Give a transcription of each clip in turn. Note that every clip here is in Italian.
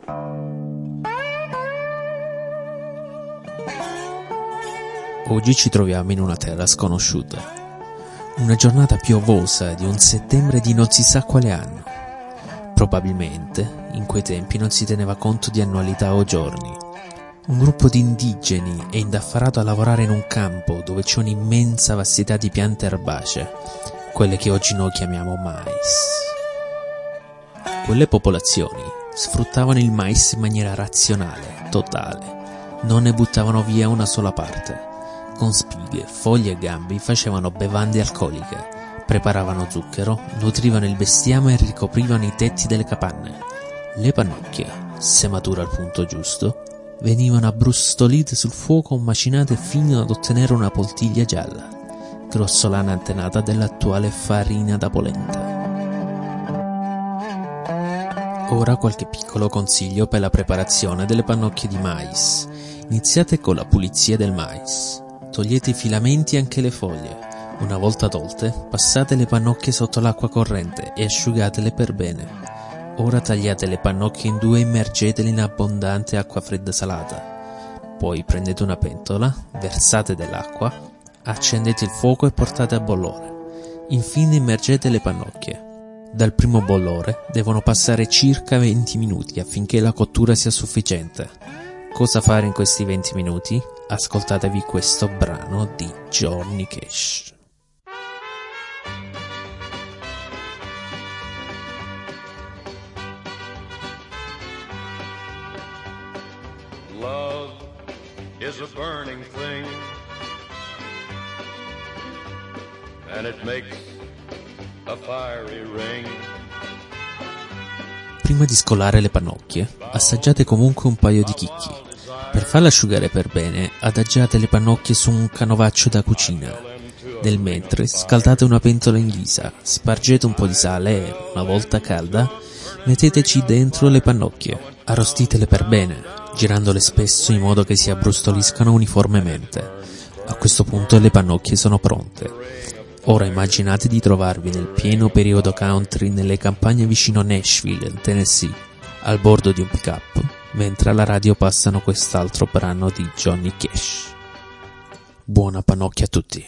Oggi ci troviamo in una terra sconosciuta. Una giornata piovosa di un settembre di non si sa quale anno. Probabilmente, in quei tempi non si teneva conto di annualità o giorni. Un gruppo di indigeni è indaffarato a lavorare in un campo dove c'è un'immensa vastità di piante erbacee, quelle che oggi noi chiamiamo mais. Quelle popolazioni sfruttavano il mais in maniera razionale, totale. Non ne buttavano via una sola parte. Con spighe, foglie e gambi facevano bevande alcoliche, preparavano zucchero, nutrivano il bestiame e ricoprivano i tetti delle capanne. Le pannocchie, se mature al punto giusto, venivano abbrustolite sul fuoco macinate fino ad ottenere una poltiglia gialla, grossolana antenata dell'attuale farina da polenta. Ora qualche piccolo consiglio per la preparazione delle pannocchie di mais. Iniziate con la pulizia del mais. Togliete i filamenti e anche le foglie. Una volta tolte, passate le pannocchie sotto l'acqua corrente e asciugatele per bene. Ora tagliate le pannocchie in due e immergetele in abbondante acqua fredda salata. Poi prendete una pentola, versate dell'acqua, accendete il fuoco e portate a bollore. Infine immergete le pannocchie. Dal primo bollore devono passare circa 20 minuti affinché la cottura sia sufficiente. Cosa fare in questi 20 minuti? Ascoltatevi questo brano di Johnny Cash. Love is a burning thing, and it makes a fiery ring. Prima di scolare le pannocchie, assaggiate comunque un paio di chicchi. Per farle asciugare per bene, adagiate le pannocchie su un canovaccio da cucina. Nel mentre, scaldate una pentola in ghisa, spargete un po' di sale e, una volta calda, metteteci dentro le pannocchie. Arrostitele per bene, girandole spesso in modo che si abbrustoliscano uniformemente. A questo punto le pannocchie sono pronte. Ora immaginate di trovarvi nel pieno periodo country nelle campagne vicino Nashville, Tennessee, al bordo di un pick-up, mentre alla radio passano quest'altro brano di Johnny Cash. Buona pannocchia a tutti.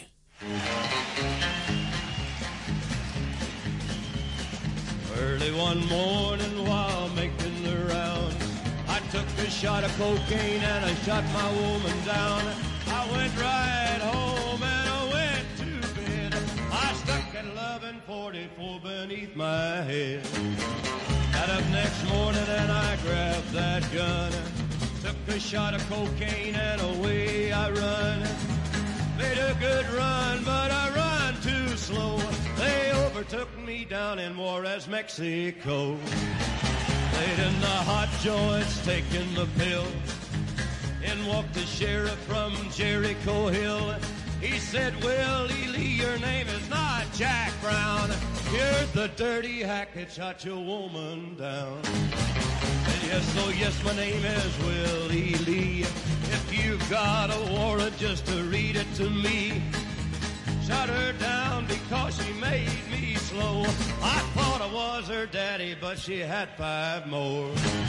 Early one morning while making the round, I took a shot of cocaine and I shot my woman down. I went right home and I went to bed. I stuck at 11:44 beneath my head. Got up next morning and I grabbed that gun, took a shot of cocaine and away I run. Made a good run, but I run too slow. They overtook me down in Juarez, Mexico. Laid in the hot joints, taking the pill. In walked the sheriff from Jericho Hill. He said, Willie Lee, your name is not Jack Brown. You're the dirty hack that shot your woman down. And yes, oh yes, my name is Willie Lee. If you've got a warrant, just to read it to me. Shot her down because she made me slow. I thought I was her daddy, but she had 5 more.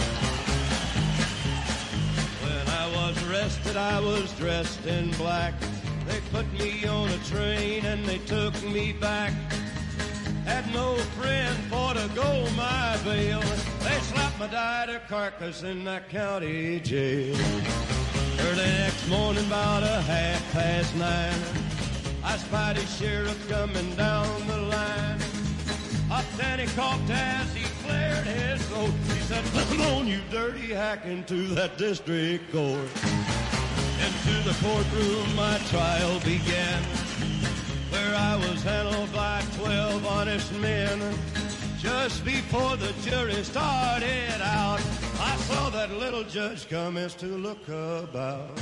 When I was arrested, I was dressed in black. They put me on a train and they took me back. Had no friend for to go my bail. They slapped my died carcass in that county jail. Early next morning, about 9:30, I spied a sheriff coming down the line. Up then he coughed as he cleared his throat. He said, "Come on, you dirty hack, into that district court." Into the courtroom my trial began, where I was handled by 12 honest men. Just before the jury started out, I saw that little judge commence to look about.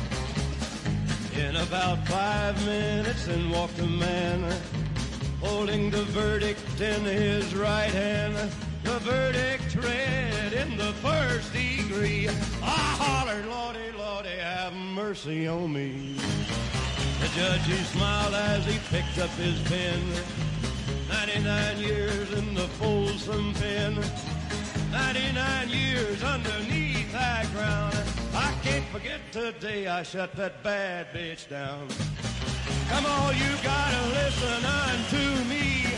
In about 5 minutes in walked a man, holding the verdict in his right hand. The verdict read in the first degree. I hollered, Lordy, Lordy, have mercy on me. The judge, he smiled as he picked up his pen. 99 years in the Folsom pen. 99 years underneath that ground. I can't forget the day I shut that bad bitch down. Come on, you gotta listen unto me.